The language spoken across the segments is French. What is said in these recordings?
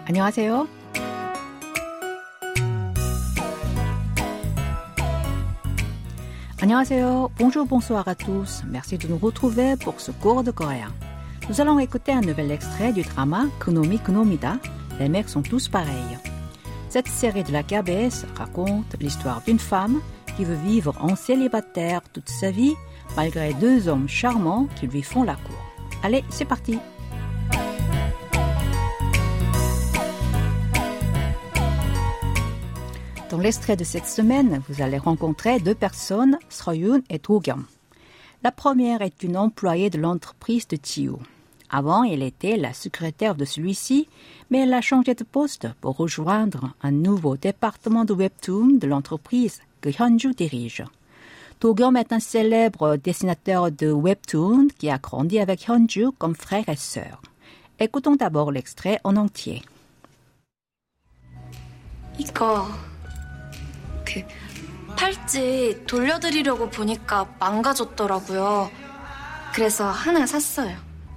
안녕하세요. 안녕하세요. Bonjour, bonsoir à tous. Merci de nous retrouver pour ce cours de coréen. Nous allons écouter un nouvel extrait du drama Kunomi Kunomida. Les mecs sont tous pareils. Cette série de la KBS raconte l'histoire d'une femme qui veut vivre en célibataire toute sa vie malgré deux hommes charmants qui lui font la cour. Allez, c'est parti. Dans l'extrait de cette semaine, vous allez rencontrer deux personnes, Seoyoon et Do-kyum. La première est une employée de l'entreprise de Ji-woo. Avant, elle était la secrétaire de celui-ci, mais elle a changé de poste pour rejoindre un nouveau département de webtoon de l'entreprise que Hyun-ju dirige. Do-kyum est un célèbre dessinateur de webtoon qui a grandi avec Hyun-ju comme frère et sœur. Écoutons d'abord l'extrait en entier. 팔찌 돌려드리려고 보니까 망가졌더라고요. 그래서 하나 샀어요.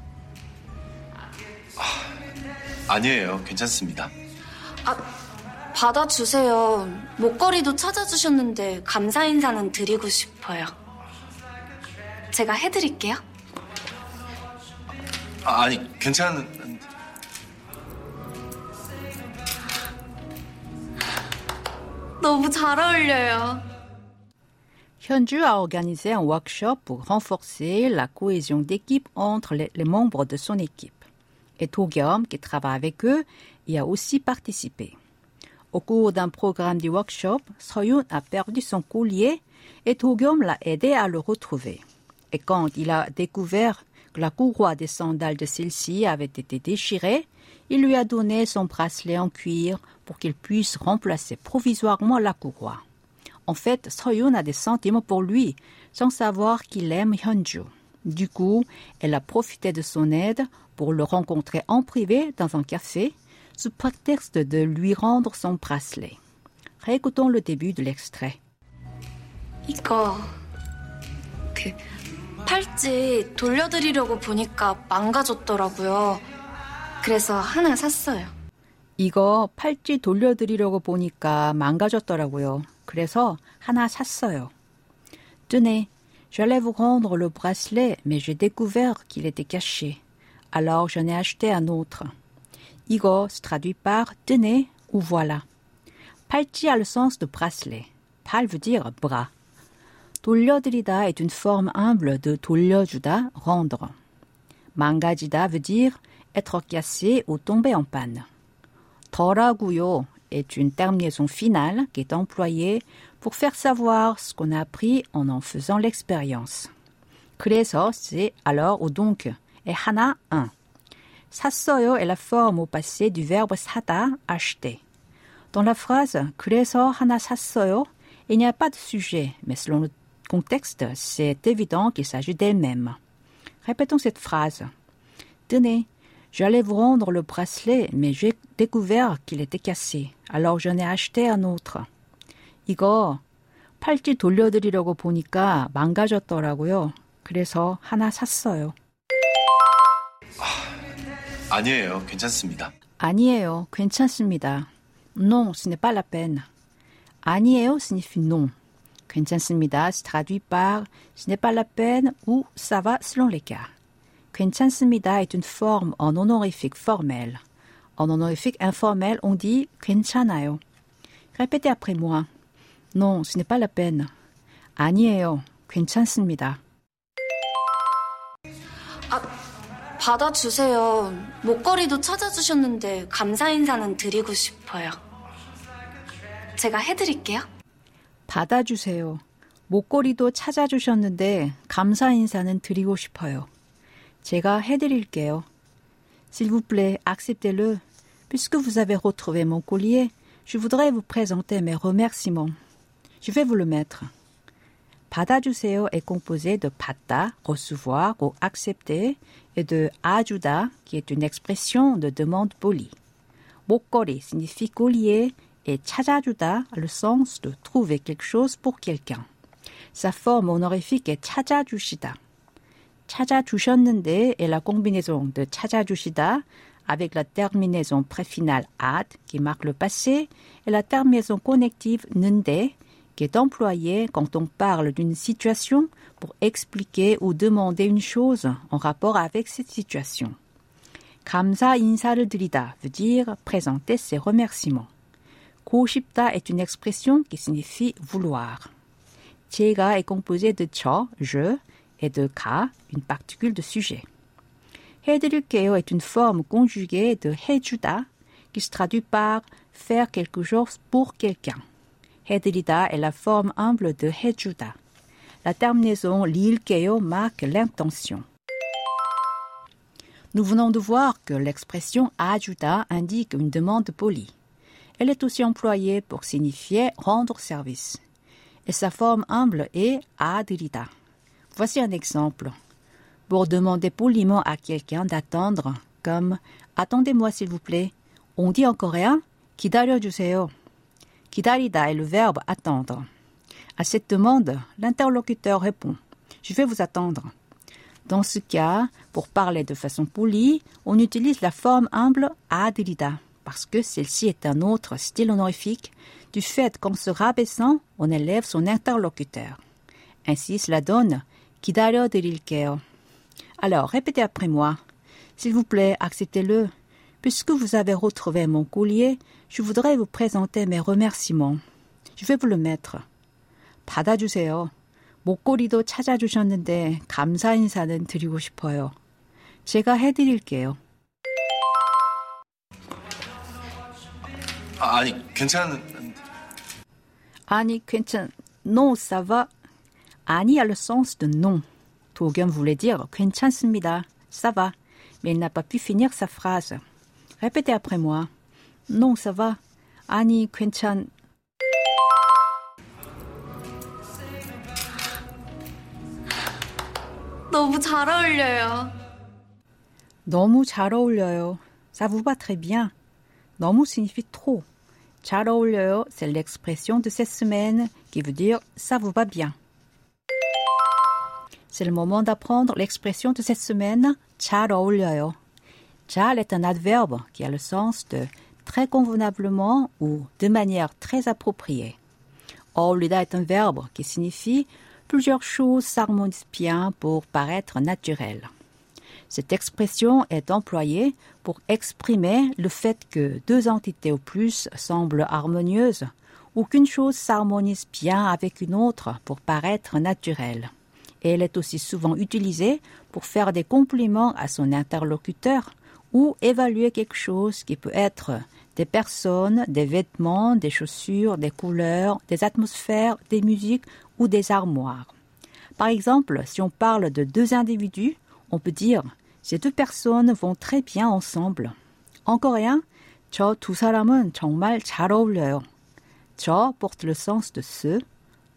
아니에요. 괜찮습니다. 받아주세요. 목걸이도 찾아주셨는데 감사 인사는 드리고 싶어요. 제가 해드릴게요. 아니, 괜찮은... 너무 잘 어울려요. Hyun-ju a organisé un workshop pour renforcer la cohésion d'équipe entre les membres de son équipe. Et Do-kyum, qui travaille avec eux, y a aussi participé. Au cours d'un programme du workshop, Seoyoon a perdu son collier et Do-kyum l'a aidé à le retrouver. Et quand il a découvert que la courroie des sandales de celle-ci avait été déchirée, il lui a donné son bracelet en cuir pour qu'il puisse remplacer provisoirement la courroie. En fait, Seoyoon a des sentiments pour lui, sans savoir qu'il aime Hyun-ju. Du coup, elle a profité de son aide pour le rencontrer en privé dans un café, sous prétexte de lui rendre son bracelet. Réécoutons le début de l'extrait. 팔찌 돌려드리려고 보니까 망가졌더라고요. 그래서 하나 샀어요. 이거 팔찌 돌려드리려고 보니까 망가졌더라고요. 그래서 하나 샀어요. Tenez, j'allais vous rendre le bracelet, mais j'ai découvert qu'il était caché. Alors j'en ai acheté un autre. 이거 se traduit par tenez ou voilà. 팔찌 a le sens de bracelet. 팔 veut dire bras. 돌려드리다 est une forme humble de 돌려주다, rendre. 망가지다 veut dire être cassé ou tomber en panne. 더라고요 est une terminaison finale qui est employée pour faire savoir ce qu'on a appris en faisant l'expérience. 그래서, c'est alors ou donc, et 하나, un. 샀어요 est la forme au passé du verbe 사다, acheter. Dans la phrase 그래서 하나 샀어요, il n'y a pas de sujet, mais selon le contexte, c'est évident qu'il s'agit d'elle-même. Répétons cette phrase. Tenez, j'allais vous rendre le bracelet, mais j'ai découvert qu'il était cassé. Alors j'en ai acheté un autre. 이거 팔찌 돌려드리려고 보니까 망가졌더라고요. 그래서 하나 샀어요. 아니에요. 괜찮습니다. 아니에요. 괜찮습니다. Non, ce n'est pas la peine. 아니에요 signifie non. 괜찮습니다 se traduit par ce n'est pas la peine ou ça va selon les cas. 괜찮습니다 est une forme en honorifique formel. En honorifique informel, on dit 괜찮아요. Répétez après moi. Non, ce n'est pas la peine. 아니에요. 괜찮습니다. 받아주세요. 목걸이도 찾아주셨는데 감사 인사는 드리고 싶어요. 제가 해드릴게요. 받아주세요. 목걸이도 찾아주셨는데 감사 인사는 드리고 싶어요. 제가 해드릴게요. S'il vous plaît, acceptez-le. Puisque vous avez retrouvé mon collier, je voudrais vous présenter mes remerciements. Je vais vous le mettre. 받아주세요 est composé de 받다, recevoir ou accepter, et de 아주다, qui est une expression de demande polie. 목걸이 signifie collier et 찾아주다 a le sens de trouver quelque chose pour quelqu'un. Sa forme honorifique est 찾아주시다. 찾아주셨는데 est la combinaison de 찾아주시다 avec la terminaison préfinale ad qui marque le passé et la terminaison connective nde qui est employée quand on parle d'une situation pour expliquer ou demander une chose en rapport avec cette situation. 감사 인사를 드리다 veut dire présenter ses remerciements. 고 싶다 est une expression qui signifie vouloir. 제가 est composé de 저, je, et de 가, une particule de sujet. 해드릴게요 est une forme conjuguée de 해주다 qui se traduit par faire quelque chose pour quelqu'un. 해드리다 est la forme humble de 해주다. La terminaison 릴게요 marque l'intention. Nous venons de voir que l'expression 아주다 indique une demande polie. Elle est aussi employée pour signifier rendre service. Et sa forme humble est 아드리다. Voici un exemple. Pour demander poliment à quelqu'un d'attendre, comme « Attendez-moi s'il vous plaît ». On dit en coréen « 기다려주세요 ». 기다리다 est le verbe « attendre ». À cette demande, l'interlocuteur répond « Je vais vous attendre ». Dans ce cas, pour parler de façon polie, on utilise la forme humble « 아드리다 » parce que celle-ci est un autre style honorifique du fait qu'en se rabaissant, on élève son interlocuteur. Ainsi, cela donne « 기다려드릴게요 ». Alors, répétez après moi. S'il vous plaît, acceptez-le. Puisque vous avez retrouvé mon collier, je voudrais vous présenter mes remerciements. Je vais vous le mettre. 받아주세요. 목걸이도 찾아주셨는데 감사 인사는 드리고 싶어요. 제가 해드릴게요. 아니, 괜찮... Non, ça va. 아니 a le sens de non. 도겸 voulait dire 괜찮습니다. Ça va. Mais il n'a pas pu finir sa phrase. Répétez après moi. Non, ça va. 아니, 괜찮... 너무 잘 어울려요. 너무 잘 어울려요. Ça vous va très bien. 너무 signifie trop. 잘 어울려요, c'est l'expression de cette semaine qui veut dire ça vous va bien. C'est le moment d'apprendre l'expression de cette semaine, 잘 어울려요. 잘 est un adverbe qui a le sens de très convenablement ou de manière très appropriée. 어울리다 est un verbe qui signifie plusieurs choses s'harmonisent bien pour paraître naturelles. Cette expression est employée pour exprimer le fait que deux entités ou plus semblent harmonieuses ou qu'une chose s'harmonise bien avec une autre pour paraître naturelle. Et elle est aussi souvent utilisée pour faire des compliments à son interlocuteur ou évaluer quelque chose qui peut être des personnes, des vêtements, des chaussures, des couleurs, des atmosphères, des musiques ou des armoires. Par exemple, si on parle de deux individus, on peut dire « ces deux personnes vont très bien ensemble ». En coréen, « 저 두 사람은 정말 잘 어울려요 ». « 저 » porte le sens de « ce »,« tout »,«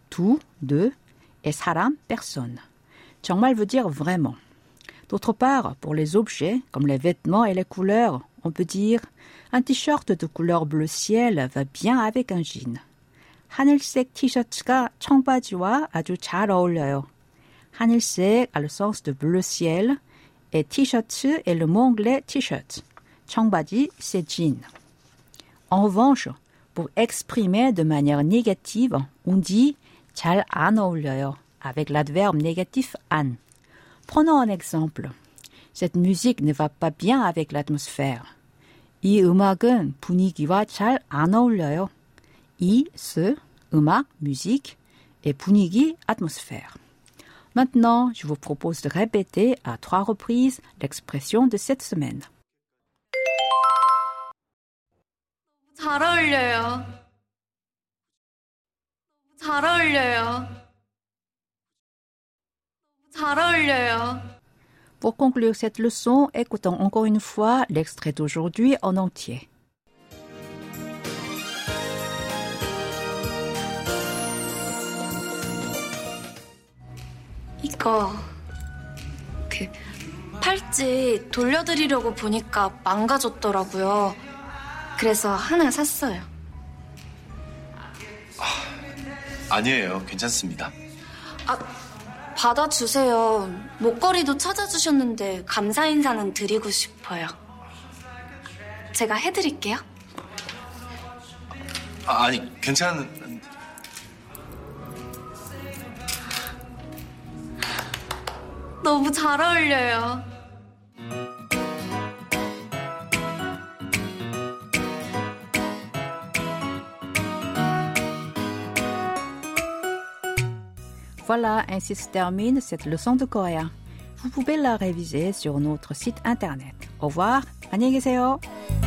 deux » et « 사람 » personne. « 정말 » veut dire « vraiment ». D'autre part, pour les objets, comme les vêtements et les couleurs, on peut dire « un t-shirt de couleur bleu ciel va bien avec un jean ». 하늘색 티셔츠가 청바지와 아주 잘 어울려요. 하늘색 a le sens de bleu ciel et t-shirt est le mot anglais t-shirt. 청바지, c'est jean. En revanche, pour exprimer de manière négative, on dit 잘 안 어울려요 avec l'adverbe négatif 안. Prenons un exemple. Cette musique ne va pas bien avec l'atmosphère. 이 음악은 분위기와 잘 안 어울려요. 이, ce, 음악, musique, et 분위기, atmosphère. Maintenant, je vous propose de répéter à 3 reprises l'expression de cette semaine. 잘 어울려요. 잘 어울려요. 잘 어울려요. Pour conclure cette leçon, écoutons encore une fois l'extrait d'aujourd'hui en entier. 이거 팔찌 돌려드리려고 보니까 망가졌더라고요. 그래서 하나 샀어요. 아니에요. 괜찮습니다. 받아주세요. 목걸이도 찾아주셨는데 감사 인사는 드리고 싶어요. 제가 해드릴게요. 아니, 괜찮은... 너무 잘 어울려요. Voilà, ainsi se termine cette leçon de coréen. Vous pouvez la réviser sur notre site internet. Au revoir, 안녕히 계세요.